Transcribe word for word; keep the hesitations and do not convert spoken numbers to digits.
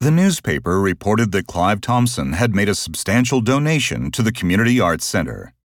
The newspaper reported that Clive Thompson had made a substantial donation to the Community Arts Center.